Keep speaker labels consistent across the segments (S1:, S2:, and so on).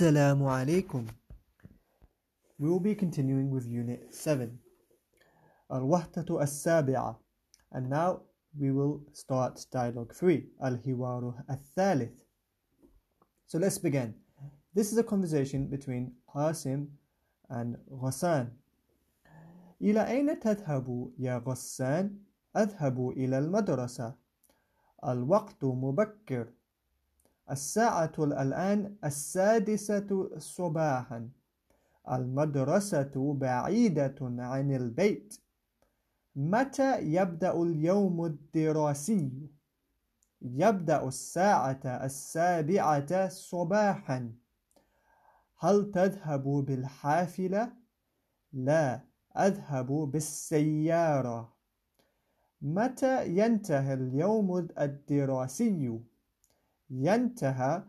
S1: Assalamu alaikum. We will be continuing with Unit 7, Al-Wahdatu As-Sabi'a. And now we will start Dialogue 3, Al-Hiwaru Al-Thalith. So let's begin. This is a conversation between Qasim and Ghassan. إلى أين تذهب يا غسان؟ أذهب إلى المدرسة. الوقت مبكر. الساعة الآن 6 صباحا. المدرسة بعيدة عن البيت. متى يبدأ اليوم الدراسي؟ يبدأ الساعة 7 صباحا. هل تذهب بالحافلة؟ لا، أذهب بالسيارة. متى ينتهي اليوم الدراسي؟ ينتهي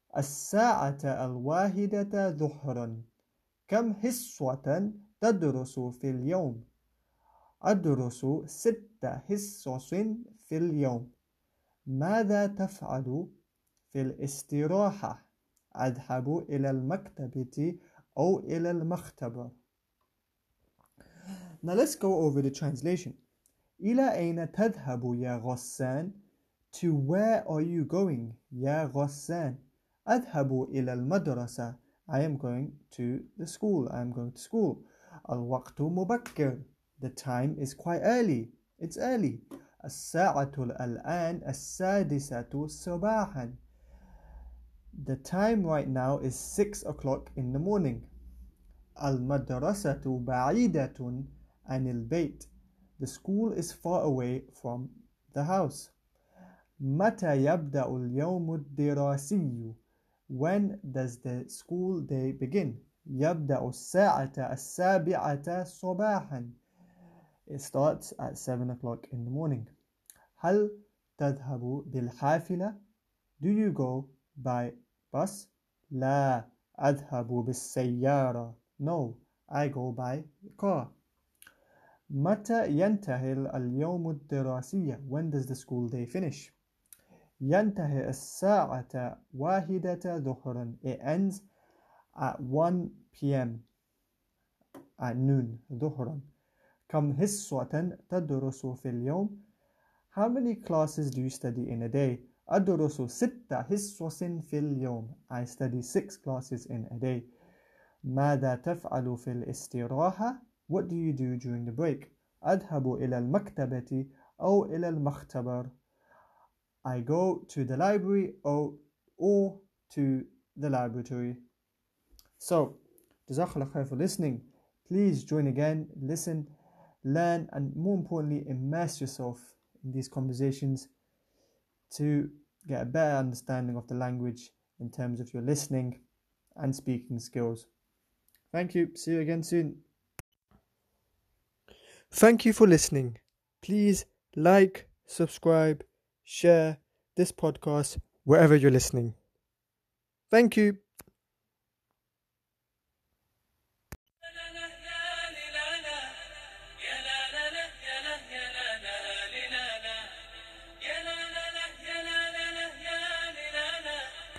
S1: 1:00 ظهرا. كم حصة تدرس في اليوم؟ أدرس 6 حصص في اليوم. ماذا تفعل في الاستراحة؟ أذهب إلى المكتبة أو إلى المختبر. Now let's go over the translation. إلى أين تذهب يا غسان? To where are you going, يا غسان? أذهب إلى المدرسة. I am going to the school. I am going to school. الوقت مبكر. The time is quite early. It's early. الساعة الآن 6 صباحا. The time right now is 6 o'clock in the morning. المدرسة بعيدة عن البيت. The school is far away from the house. متى يبدأ اليوم الدراسي? When does the school day begin? يبدأ الساعة 7 صباحا. It starts at 7 o'clock in the morning. هل تذهب بالحافلة? Do you go by bus? لا، أذهب بالسيارة. No, I go by car. متى ينتهي اليوم الدراسي? When does the school day finish? ينتهي الساعة 1 ظهرا. It ends at 1 p.m. at noon. ظهرا. كم حصة تدرس في اليوم? How many classes do you study in a day? أدرس 6 حصص في اليوم. I study 6 classes in a day. ماذا تفعل في الاستراحة? What do you do during the break? أذهب إلى المكتبة أو إلى المختبر. I go to the library or to the laboratory. So, Jazakallah khair for listening. Please join again, listen, learn, and more importantly, immerse yourself in these conversations to get a better understanding of the language in terms of your listening and speaking skills. Thank you. See you again soon. Thank you for listening. Please like, subscribe, share this podcast wherever you're listening. Thank you.